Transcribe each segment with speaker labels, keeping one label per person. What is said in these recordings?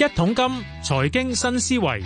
Speaker 1: 桶金財經新思維，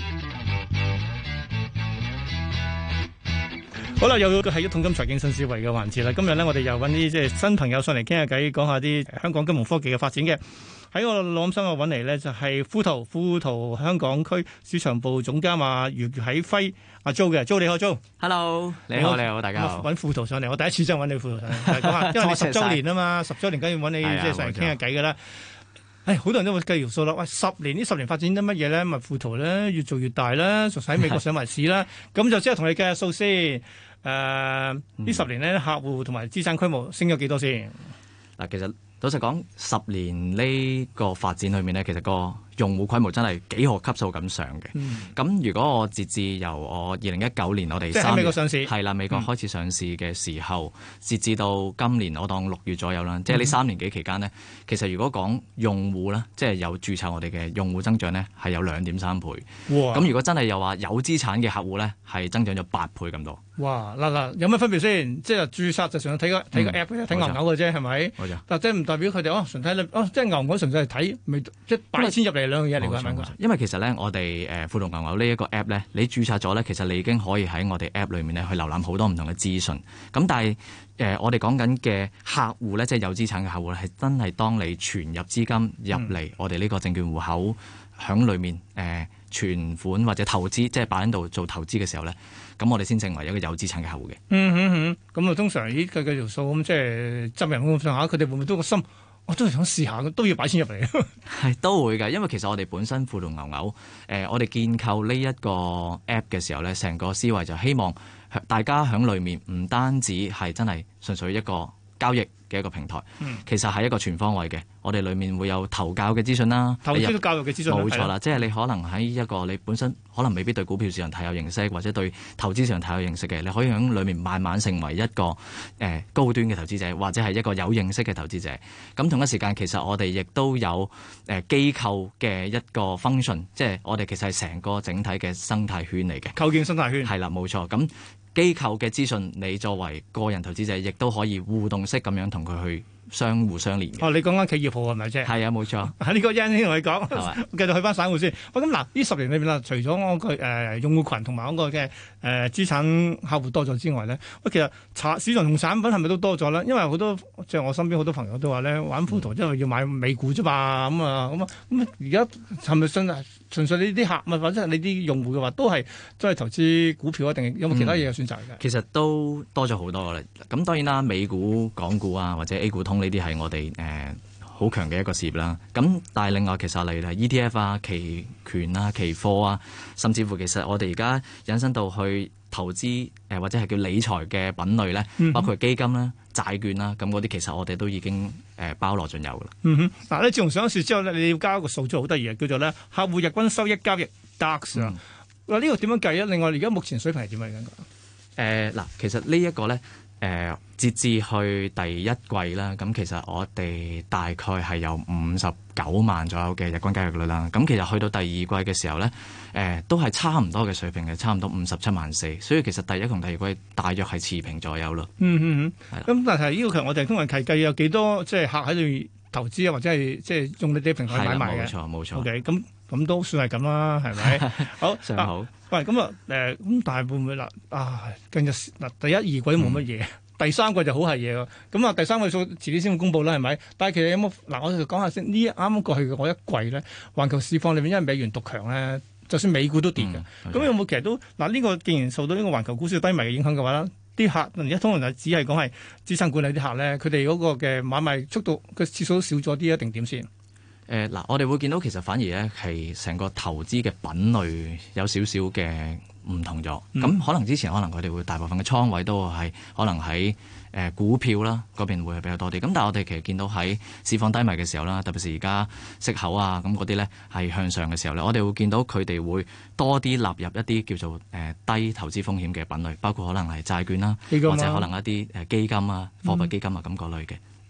Speaker 1: 好啦，又係一桶金財經新思維嘅環節啦。今日咧，我哋又揾啲即係新朋友上嚟傾下偈，講下啲香港金融科技嘅發展嘅。喺我腦諗深我揾嚟咧，就係富途香港區市場部總監余啟輝阿 Jo 嘅。Jo 你好 Jo。Hello，
Speaker 2: 你好，大家好。
Speaker 1: 揾富途上嚟，我第一次真係揾你富途上嚟講下，因為你10週年啊嘛，10週年梗要揾你即係上嚟傾下偈㗎啦。好多人都會計條數啦。喂，10年發展得乜嘢咧？咪富途咧越做越大啦，仲喺美國上埋市啦。咁就即係同你計下數先。呢10年咧，客戶同埋資產規模升咗幾多先？
Speaker 2: 嗱，其實老實講，10年呢個發展裏面咧，其實個用戶規模真係幾何級數咁上嘅。咁如果我截至由我2019年我哋
Speaker 1: 喺美國上市
Speaker 2: 係啦，美國開始上市嘅時候，截至到今年我當6月左右啦，即係呢3年幾期間呢，其實如果講用戶咧，即係有註冊我哋嘅用戶增長咧，係有2.3倍。哇！咁如果真係又話有資產嘅客戶咧，係增長咗8倍咁多。哇！
Speaker 1: 嗱，有乜分別先？即係註冊就純粹睇個 app 睇牛牛嘅啫，係咪？冇錯。但即係唔代表佢哋純睇即係牛牛純粹係睇，即係擺錢入嚟兩樣嘢嚟㗎，係咪？
Speaker 2: 因為其實咧，我哋富途牛牛呢一個 app 咧，你註冊咗咧，其實你已經可以喺我哋 app 裏面咧去瀏覽好多唔同嘅資訊。咁但係我哋講緊嘅客戶咧，即係有資產嘅客戶咧，係真係當你存入資金入嚟我哋呢個證券戶口，響裏面存款或者投資，即係擺喺度做投資嘅時候咧，咁我哋先成為一個有資產嘅客戶嘅。
Speaker 1: 咁通常計條數咁，即係執人咁上下，佢哋會唔會都個心？我都係想試下，都要擺錢入嚟。
Speaker 2: 係都會㗎，因為其實我哋本身富途牛牛，我哋建構呢一個 app 嘅時候咧，成個思維就希望大家喺裏面唔單止係真係純粹一個交易嘅一個平台，其實係一個全方位嘅。我哋裏面會有投教嘅資訊啦，
Speaker 1: 投資教育嘅資訊，
Speaker 2: 冇錯啦。即係你可能喺一個你本身可能未必對股票市場太有認識，或者對投資市場太有認識嘅，你可以喺裏面慢慢成為一個高端嘅投資者，或者係一個有認識嘅投資者。咁同一時間，其實我哋亦都有機構嘅一個 function， 即係我哋其實係成個整體嘅生態圈嚟嘅。
Speaker 1: 構建生態圈
Speaker 2: 係啦，冇錯。咁機構嘅資訊，你作為個人投資者，亦都可以互動式咁樣同佢去相互相連嘅。
Speaker 1: 你講緊企業號係咪啫？
Speaker 2: 係啊，冇錯。
Speaker 1: 喺呢個因先同你講，繼續去翻散戶先。咁嗱，呢10年裏邊啦，除咗我個用戶群同埋嗰個嘅資產客戶多咗之外咧，其實市場同產品係咪都多咗咧？因為好多即係我身邊好多朋友都話咧，玩富途因為要買美股啫嘛，咁而家係咪純粹你啲客或者係你啲用戶嘅話，都係投資股票啊？定有冇其他嘢嘅選擇嘅？
Speaker 2: 其實都多咗好多啦。咁當然啦，美股、港股啊，或者 A 股通呢啲係我哋好強嘅一個事業啦。咁但係另外其實例如係 ETF 啊、期權啊、期貨啊，甚至乎其實我哋而家引申到去投資或者係叫理財嘅品類咧，包括基金啦、債券啦，咁嗰啲其實我哋都已經包羅盡有噶啦。
Speaker 1: 嗱，你自從上市之後咧，你要交一個數字好得意嘅，叫做咧客戶日均收益交易 DAX 啊。呢個點樣計啊？另外而家目前水平係點樣㗎？
Speaker 2: 嗱，其實呢一個咧。截至去第一季啦，咁其實我哋大概係有59萬左右嘅日均交易率啦。咁其實去到第二季嘅時候咧，都係差唔多嘅水平嘅，差唔多57萬4。所以其實第一同第二季大約係持平左右咯。咁
Speaker 1: 但係呢個其實我哋通常計有幾多即係客喺度投資啊，或者係即係用你啲平台買賣嘅？
Speaker 2: 冇錯。
Speaker 1: OK，咁都算係咁啦，係咪？好，
Speaker 2: 好。
Speaker 1: 喂，咁咁但係會唔會近日第一二季都冇乜嘢，第三季就好係嘢喎。咁第三季數遲啲先會公佈啦，係咪？但係其實有冇我哋講下先。呢啱啱過去嘅嗰一季咧，環球市況裏面因為美元獨強咧，就算美股都跌嘅。咁有冇其實都呢個既然受到呢個環球股市低迷嘅影響嘅話咧，啲客而家通常就只係講係資產管理啲客咧，佢哋嗰個嘅買賣速度嘅次數都少咗啲，一定點先？
Speaker 2: 我哋會見到其實反而咧係成個投資嘅品類有少少嘅唔同咗。咁可能之前可能佢哋會大部分嘅倉位都係可能喺股票啦嗰邊會係比較多啲。咁但係我哋其實見到喺市況低迷嘅時候啦，特別是而家息口啊咁嗰啲咧係向上嘅時候咧，我哋會見到佢哋會多啲納入一啲叫做低投資風險嘅品類，包括可能係債券啦，或者可能一啲基金啊、貨幣基金啊咁嗰類嘅。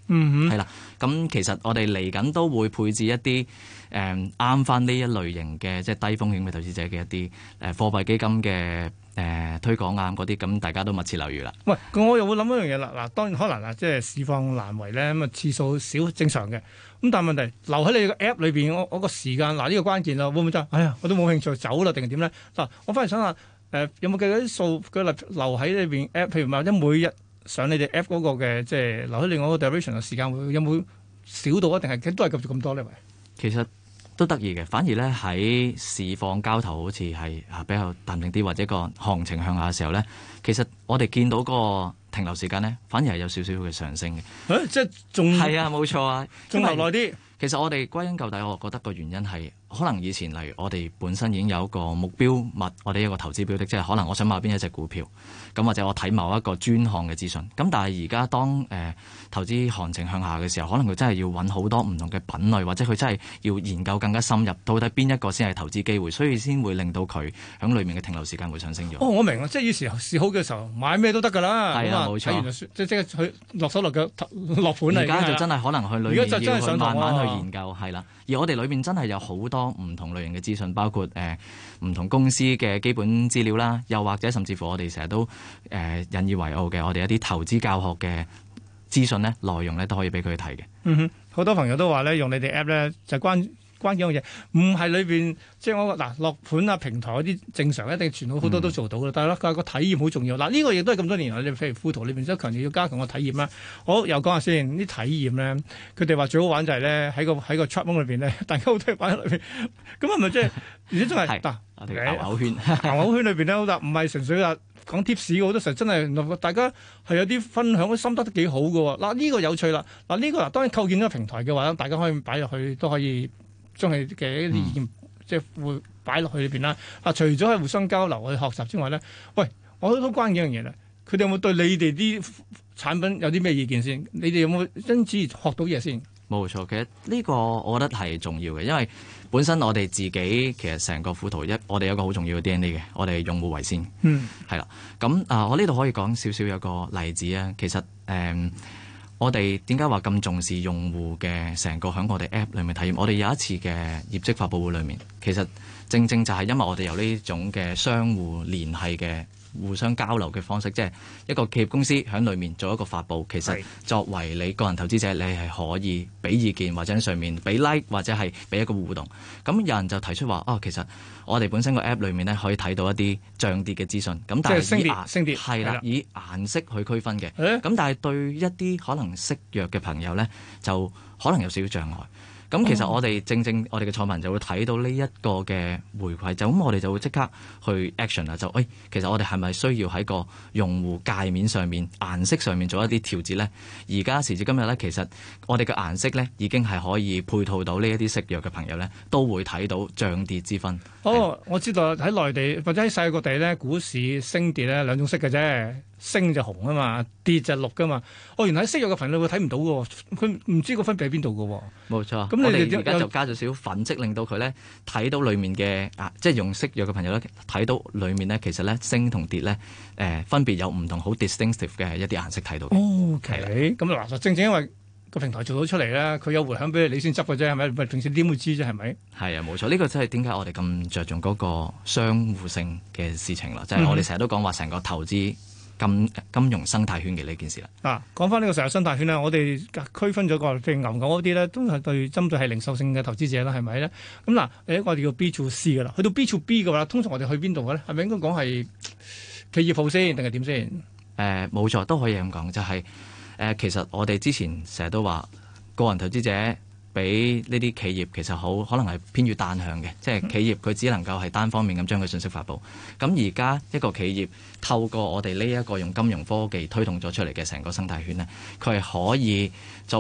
Speaker 1: 嗯
Speaker 2: 係啦。咁其實我哋嚟緊都會配置一啲啱翻呢一類型嘅即係低風險嘅投資者嘅一啲貨幣基金嘅推廣啊嗰啲，咁大家都密切留意啦。
Speaker 1: 喂，咁我又會諗一樣嘢啦。嗱，當然可能即係市況難為咧，咁啊次數少正常嘅。咁但係問題留喺你個 app 裏邊，我個時間嗱呢個關鍵啦，會唔會真係？哎呀，我都冇興趣走啦，定係點咧？嗱，我反而想下有冇計嗰啲數佢留喺裏邊 app，譬如或者每日上你哋 app 嗰個嘅即係留喺另外一個 duration 嘅時間會有冇少到啊？定係都係繼續咁多呢？喂，
Speaker 2: 其實都得意嘅，反而咧喺市況交投好似係比較淡定啲，或者個行情向下嘅時候咧，其實我哋見到個停留時間咧，反而係有少少嘅上升嘅。
Speaker 1: 即係仲
Speaker 2: 係啊，冇錯啊，
Speaker 1: 仲留耐啲。
Speaker 2: 其實我哋歸根究底，我覺得個原因係可能以前例如我哋本身已經有一個目標物，我哋一個投資標的，即係可能我想買邊一隻股票，咁或者我睇某一個專項嘅資訊。咁但係而家當投資行情向下嘅時候，可能佢真係要揾好多唔同嘅品類，或者佢真係要研究更加深入，到底邊一個先係投資機會，所以先會令到佢喺裏面嘅停留時間會上升咗。
Speaker 1: 哦，我明啦，即係以前市好嘅時候買咩都得㗎啦。
Speaker 2: 係啊，冇錯。
Speaker 1: 睇完就即刻去落手落腳落盤啦。
Speaker 2: 而家就真係可能去裏面要去慢慢去研究，係啦。而我哋裏面真係有好多唔同類型嘅資訊，包括唔同公司嘅基本資料啦，又或者甚至乎我哋成日都引以為傲嘅，我哋一啲投資教學嘅資訊咧，內容咧都可以俾佢睇嘅。
Speaker 1: 嗯哼，好多朋友都話咧，用你哋 app 咧就關鍵嘅嘢，唔係裏邊即係我嗱落盤啊平台嗰啲正常一定全部好多都做到嘅，但係咧個體驗好重要。嗱呢個亦都係咁多年來，你譬如富途裏邊都強調要加強個體驗啦。好，又講下先啲體驗咧，佢哋話最好玩就係咧喺個 chat room 裏邊咧，大家好多玩喺裏邊，咁係咪即係而且真係嗱
Speaker 2: 牛牛圈
Speaker 1: 牛牛圈裏邊咧，好唔係純粹話講 tips 好多時候真係大家係有啲分享，啲心得都幾好嘅喎。嗱呢個有趣啦，嗱呢個嗱當然構建咗個平台嘅話，大家可以擺入去都可以。將佢嘅一啲意見即係會擺落去裏邊啦。啊，除咗係互相交流去學習之外咧，喂，我都關幾樣嘢啦。佢哋有冇對你哋啲產品有啲咩意見先？你哋有冇因此學到嘢先？
Speaker 2: 冇錯，其實呢個我覺得係重要嘅，因為本身我哋自己其實成個富途我哋有一個好重要嘅 DNA 嘅，我哋用戶為先。係啦。咁我呢度可以講少少有個例子啊。其實我哋點解話咁重視用戶嘅成個喺我哋 App 裏面體驗？我哋有一次嘅業績發佈會裏面，其實正正就係因為我哋有呢種嘅相互聯繫嘅互相交流嘅方式，即係一個企業公司喺裏面做一個發佈。其實作為你個人投資者，你係可以俾意見或者喺上面俾 like 或者係俾一個互動。咁有人就提出話其實我哋本身個 app 裏面咧可以睇到一啲漲跌嘅資訊。咁但係
Speaker 1: 升跌
Speaker 2: 係啦，以顏色去區分嘅。咁但係對一啲可能識弱嘅朋友咧，就可能有少少障礙。咁其實我哋正我哋嘅創辦人就會睇到呢一個嘅回饋，就咁我哋就會即刻去 action 啦，就其實我哋係咪需要喺個用戶界面上面顏色上面做一啲調節咧？而家時至今日咧，其實我哋嘅顏色咧已經係可以配套到呢一啲識弱嘅朋友咧，都會睇到漲跌之分。
Speaker 1: 我知道喺內地或者喺世界各地咧，股市升跌咧兩種色嘅啫。升就紅啊嘛，跌就綠噶嘛。原來喺識弱嘅朋友會睇唔到嘅，佢唔知個分別喺邊度嘅。
Speaker 2: 冇錯。
Speaker 1: 咁
Speaker 2: 我哋而家就加咗少少粉色，令到佢咧睇到裡面嘅即係用識弱嘅朋友咧睇到裡面咧，其實咧升同跌咧分別有唔同好 distinctive 嘅一啲顏色睇到。
Speaker 1: OK，咁嗱，正正因為個平台做到出嚟咧，佢有回響俾你先執嘅啫，係咪？唔係平時點會知啫？係咪？係
Speaker 2: 啊，冇錯。呢個真係點解我哋咁着重嗰個相互性嘅事情啦？即係我哋成日都講話成個投資金融生態圈嘅呢件事啦。
Speaker 1: 講翻呢個成個生態圈咧，我哋區分咗個譬如牛牛嗰啲咧，都係針對係零售性嘅投資者啦，係咪咧？咁我哋叫 B to C 噶啦，去到 B to B 嘅話，通常我哋去邊度嘅咧？係咪應該講係企業鋪先，定係點先？
Speaker 2: 冇錯，都可以咁講，就係其實我哋之前成日都話個人投資者俾呢啲企業其實好可能係偏於單向嘅，即係企業佢只能夠係單方面咁將佢信息發布。咁而家一個企業透過我哋呢一個用金融科技推動咗出嚟嘅成個生態圈呢，佢係可以作為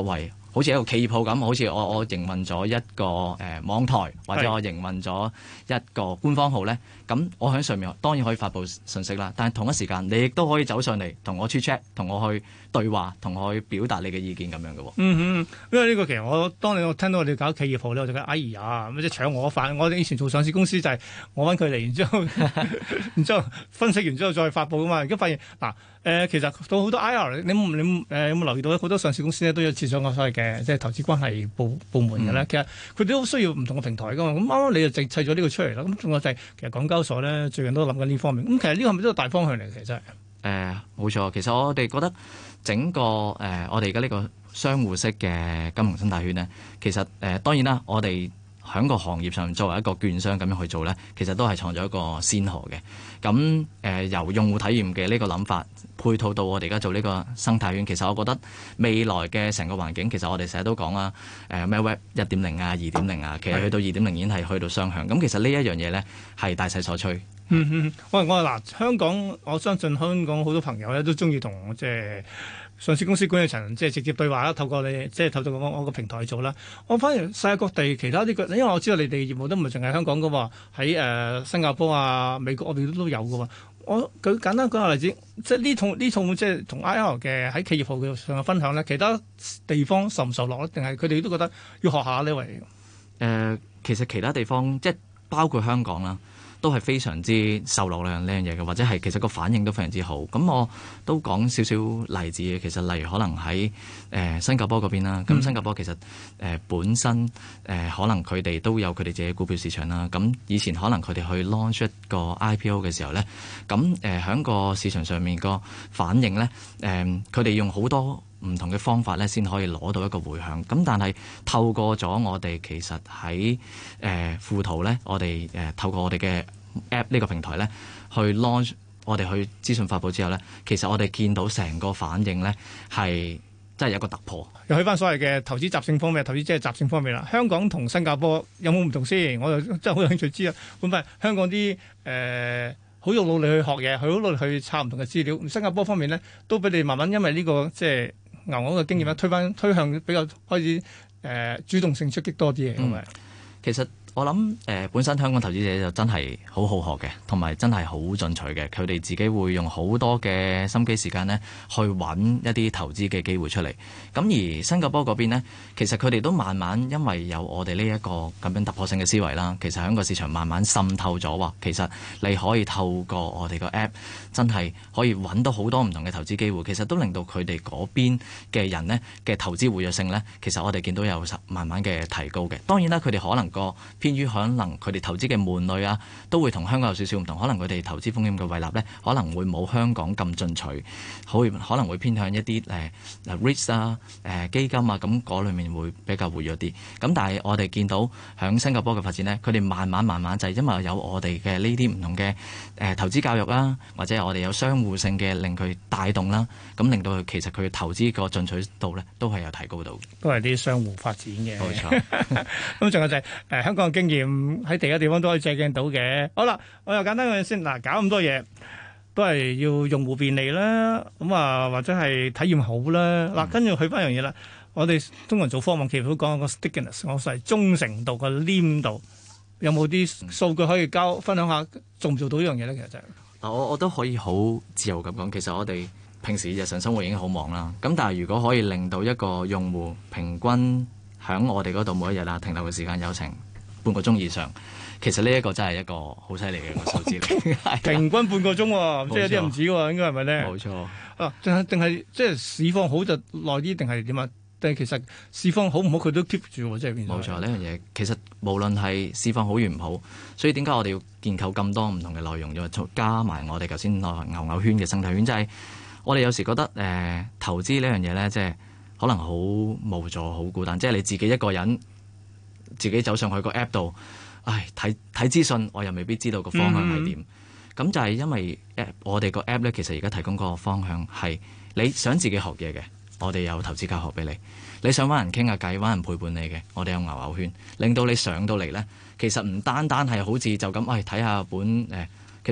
Speaker 2: 好似一個企業號咁，好似我營運咗一個網台，或者我營運咗一個官方號咧，咁我喺上面當然可以發布信息啦。但係同一時間，你亦都可以走上嚟同我 chat， 同我去對話，同我去表達你嘅意見咁樣嘅。
Speaker 1: 因為呢個其實我聽到我哋搞企業號咧，我就覺得哎呀，即係搶我飯。我哋以前做上市公司就係我揾佢嚟，然之後分析完之後再發布噶嘛。而家發現嗱。其實到好多 IR，你有冇留意到好多上市公司咧都有設咗個所謂嘅即係投資關係部門嘅咧。其實佢哋都需要唔同嘅平台噶嘛。咁啱啱你就砌咗呢個出嚟啦。咁仲有就係其實港交所咧最近都諗緊呢方面。咁其實呢個係咪都係大方向嚟嘅？其實真係
Speaker 2: 冇錯。其實我哋覺得整個我哋而家呢個相互式嘅金融生態圈咧，其實當然啦，我哋喺個行業上作為一個券商咁樣去做咧，其實都係創咗一個先河嘅。咁由用戶體驗嘅呢個諗法配套到我哋而家做呢個生態圈，其實我覺得未來嘅成個環境，其實我哋成日都講啦，咩 Web 1.0啊、2.0啊，其實去到2.0已經係去到雙向。咁其實呢一樣嘢咧係大勢所趨。
Speaker 1: 我話嗱，香港我相信香港好多朋友咧都中意同即係上市公司管理層即係直接對話啦，透過你即係透過我個平台做啦。我反而世界各地其他啲因為我知道你哋業務都唔係淨係香港噶喎，喺新加坡啊、美國嗰邊都有噶喎。我舉簡單舉個例子，即係呢套即係同 IR 嘅喺企業號嘅上嘅分享咧，其他地方受唔受落咧？定係佢哋都覺得要學下呢位？
Speaker 2: 其實其他地方即係包括香港啦，都係非常之受落呢樣嘢嘅，或者係其實個反應都非常之好。咁我都講少少例子嘅，其實例如可能喺新加坡嗰邊啦。咁新加坡其實本身可能佢哋都有佢哋自己股票市場啦。咁以前可能佢哋去 launch 一個 IPO 嘅時候咧，咁喺個市場上面個反應咧，佢哋用好多唔同嘅方法咧，先可以攞到一個回響。咁但係透過咗我哋其實喺富途咧，我哋透過我哋嘅 App 呢個平台咧，去 launch 我哋去資訊發布之後咧，其實我哋見到成個反應咧係真係有一個突破。
Speaker 1: 又去翻所謂嘅投資習性方面，投資即係習性方面啦。香港同新加坡有冇唔同先？我就真係好有興趣知啊。會唔會香港啲好用努力去學嘢，好努力去查唔同嘅資料？新加坡方面咧，都俾你慢慢因為呢個即係牛牛嘅經驗咧，推向比較開始主動性出擊多啲嘅咁咪。
Speaker 2: 其實我諗本身香港投資者就真係好好學嘅，同埋真係好進取嘅。佢哋自己會用好多嘅心機時間呢，去揾一啲投資嘅機會出嚟。咁而新加坡嗰邊呢，其實佢哋都慢慢因為有我哋呢一個咁樣突破性嘅思維啦，其實喺個市場慢慢滲透咗話，其實你可以透過我哋個 app 真係可以揾到好多唔同嘅投資機會。其實都令到佢哋嗰邊嘅人呢嘅投資活躍性呢，其實我哋見到有慢慢嘅提高嘅。當然啦，佢哋可能偏於可能佢哋投資嘅門類啊，都會同香港有少少唔同。可能佢哋投資風險嘅胃納咧，可能會冇香港咁進取，可能會偏向一啲REITs 啊、基金啊，咁嗰裏面會比較活躍啲。咁但係我哋見到響新加坡嘅發展咧，佢哋慢慢就係因為有我哋嘅呢啲唔同嘅投資教育啦，或者係我哋有相互性嘅令佢帶動啦，咁令到佢其實佢投資個進取度咧都係有提高到。都
Speaker 1: 係啲相互發展嘅。
Speaker 2: 冇錯。
Speaker 1: 咁仲有就係香港嘅經驗喺其他地方都可以借鏡到嘅。好啦，我又簡單講先。嗱，搞咁多嘢都係要用戶便利啦，咁啊或者係體驗好啦。嗱，跟住去翻樣嘢啦。我哋通常做科網企業都講個 stickiness， 我係忠誠度個黏度，有冇啲數據可以分享下，做唔做到呢樣嘢咧？其實就係
Speaker 2: 我都可以好自由咁講。其實我哋平時日常生活已經好忙啦，咁但係如果可以令到一個用戶平均喺我哋嗰度每一日啊停留嘅時間有成半個鐘以上，其實呢一個真係一個好犀利嘅個數字嚟。
Speaker 1: 平均半個鐘喎，即係有啲唔止喎，應該係咪咧？
Speaker 2: 冇錯。
Speaker 1: 啊，定係即係市況好就耐啲，定係點啊？定係其實市況好唔好佢都 keep 住喎，即係變咗。
Speaker 2: 冇錯，呢樣嘢其實無論係市況好與唔好，所以點解我哋要建構咁多唔同嘅內容，又加埋我哋頭先牛牛圈嘅生態圈，即係我哋有時覺得投資呢樣嘢咧，即係可能好無助、好孤單，即係你自己一個人自己走上去個 app 度，睇資訊，我又未必知道個方向係點。咁就係因為我哋個 app 咧，其實而家提供個方向係你想自己學嘢嘅，我哋有投資教學俾你；你想揾人傾下偈、揾人陪伴你嘅，我哋有牛牛圈，令到你上到嚟咧，其實唔單單係好似就咁睇下本其實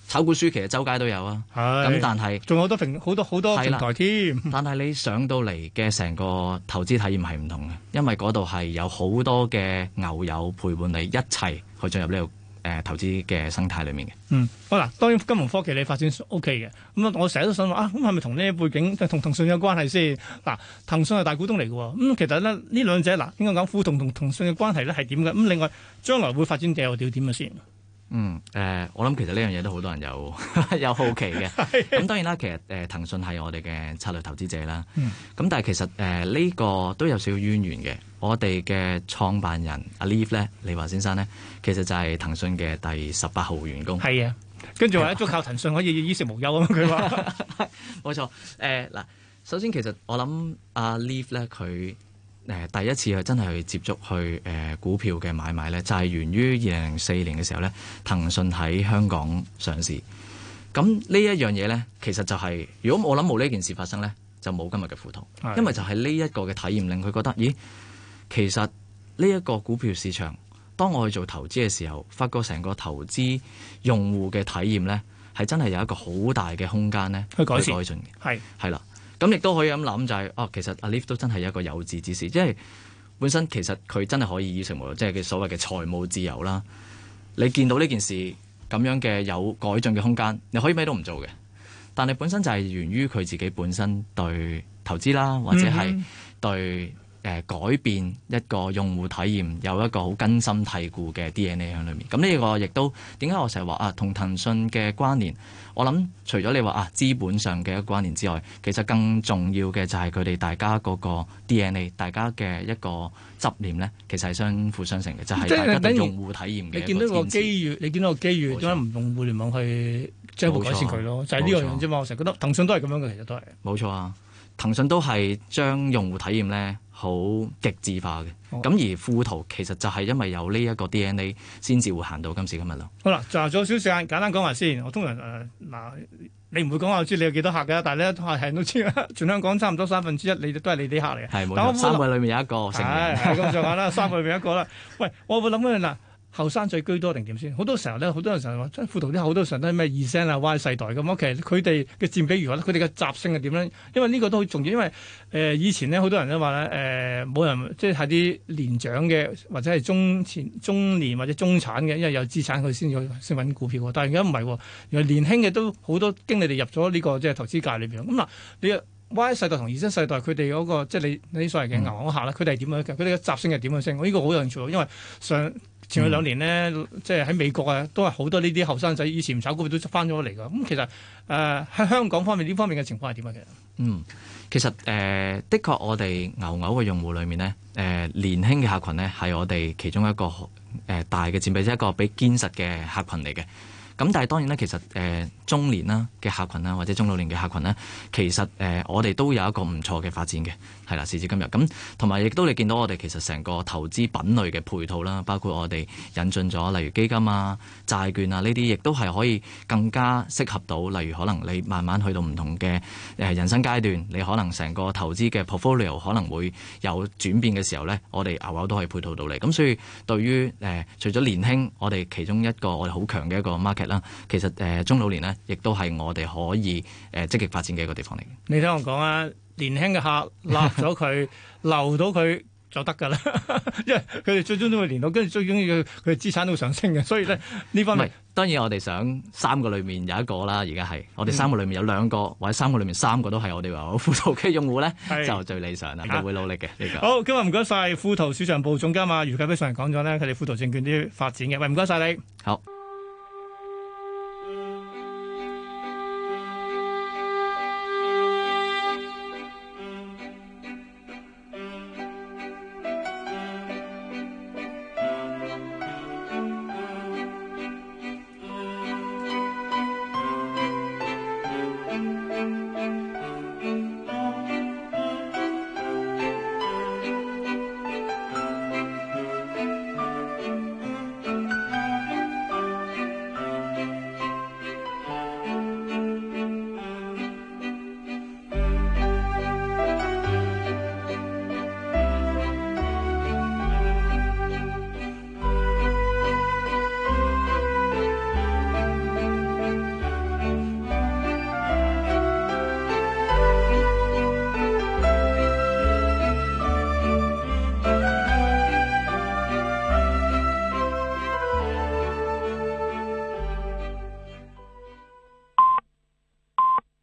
Speaker 2: 炒股書其實周街都有啊。咁
Speaker 1: 係
Speaker 2: 但係
Speaker 1: 仲有好多平台添。
Speaker 2: 但係你上到嚟嘅成個投資體驗係唔同嘅，因為嗰度係有好多嘅牛友陪伴你一齊去進入呢個投資嘅生態裏面嘅。
Speaker 1: 好啦，當然金融科技你發展 O K 嘅，咁我成日都想話啊，咁係咪同呢啲背景同騰訊有關係先？嗱，騰訊係大股東嚟嘅喎，咁其實咧呢兩者嗱應該講富同騰訊嘅關係咧係點嘅？咁另外將來會發展又點嘅先？
Speaker 2: 我諗其實呢樣嘢都好多人有有好奇嘅。咁當然啦，其實騰訊係我哋嘅策略投資者啦。咁但係其實呢個都有少少淵源嘅。我哋嘅創辦人阿 Leaf 咧，李華先生咧，其實就係騰訊嘅第18號員工。
Speaker 1: 係啊，跟住話一早靠騰訊可以衣食無憂啊嘛，佢話。
Speaker 2: 冇錯。嗱，首先其實我諗阿 Leaf 咧，佢第一次去真係去接觸去股票嘅買賣咧，就係源於2004年嘅時候咧，騰訊喺香港上市。咁呢一樣嘢咧，其實就係如果我諗冇呢件事發生咧，就冇今日嘅富途。因為就係呢一個嘅體驗令佢覺得，咦，其實呢一個股票市場，當我去做投資嘅時候，發覺成個投資用戶嘅體驗咧，係真係有一個好大嘅空間咧
Speaker 1: 去改善
Speaker 2: 嘅。係啦。咁亦都可以咁諗就係，其實阿 Leaf 都真係一個有志之士，即係本身其實佢真係可以衣食無憂，即係佢所謂嘅財務自由啦。你見到呢件事咁樣嘅有改進嘅空間，你可以咩都唔做嘅，但係本身就係源於佢自己本身對投資啦，或者係對改變一個用戶體驗有一個好根深蒂固嘅 DNA 喺裏面。咁呢個亦都點解我成日話同騰訊嘅關聯？我諗除咗你話資本上嘅一個關聯之外，其實更重要嘅就係佢哋大家嗰個 DNA， 大家嘅一個執念咧，其實係相輔相成嘅，就係、是、大家對用戶體驗嘅。
Speaker 1: 你見到個機遇，點解唔用互聯網去進一步改善佢咯？就係呢個樣啫嘛。我成日覺得騰訊都係咁樣嘅，其實都係。
Speaker 2: 冇錯啊，騰訊都係將用戶體驗咧好極致化嘅。咁而富途其實就係因為有呢一個 DNA 先至會行到今時今日咯。
Speaker 1: 好啦，仲有少少時間，簡單講埋先。我通常你唔會講我知你有幾多客嘅，但係咧係人都知啦。全香港差唔多1/3，你都係你啲客嚟嘅。
Speaker 2: 係冇錯，3個裏面有一個成員。
Speaker 1: 係咁上下啦，3個裏面一個啦。喂，我會諗緊嗱。後生仔居多定點先？好多時候咧，好多人成日話，即係富途啲好多時候都係咩2 啊 Y 世代咁。其實佢哋嘅佔比如何咧？佢哋嘅習性係點咧？因為呢個都好重要。因為以前咧，好多人都話咧，冇人即係啲年長嘅或者係中年或者中產嘅，因為有資產佢先揾股票。但係而家唔係喎，原來年輕嘅都好多經理哋入咗呢個即係投資界裏邊。咁嗱，你 Y 世代同Z世代佢哋嗰個即係你所謂嘅牛行客啦，佢哋係點樣嘅？佢哋嘅習性係點樣先？我呢個好有興趣，因為前去2年呢，即係喺美國啊，都係好多呢啲後生仔以前唔炒股票都翻咗嚟㗎。咁其實喺香港方面呢方面嘅情況係點啊？
Speaker 2: 其實的確我哋牛嘅用戶裏面呢，年輕嘅客群呢係我哋其中一個大嘅佔比，即係一個比堅實嘅客群嚟嘅。咁但係當然咧，其實中年啦嘅客群啦，或者中老年嘅客群咧，其實我哋都有一個唔錯嘅發展嘅，係啦，時至今日。咁同埋亦都你見到我哋其實成個投資品類嘅配套啦，包括我哋引進咗例如基金啊、債券啊呢啲，亦都係可以更加適合到，例如可能你慢慢去到唔同嘅人生階段，你可能成個投資嘅 portfolio 可能會有轉變嘅時候咧，我哋牛都可以配套到你。咁所以對於除咗年輕，我哋其中一個我哋好強嘅一個 market 啦，其實中老年咧，亦都係我哋可以積極發展嘅一個地方嚟嘅。
Speaker 1: 你聽我講啊，年輕嘅客立咗佢留到佢就得㗎啦，因為佢哋最終都會連到，跟住最終要佢哋資產都會上升嘅，所以咧呢方面
Speaker 2: 當然我哋想3個裏面有一個啦，而家係我哋3個裏面有2個，或者3個裏面3個都係我哋話富途嘅用戶咧，就最理想啦，就會努力嘅呢個。
Speaker 1: 好，今日唔該晒富途市場部總監余啟輝上嚟講咗咧，佢哋富途證券啲發展嘅，喂，唔該晒你。
Speaker 2: 好。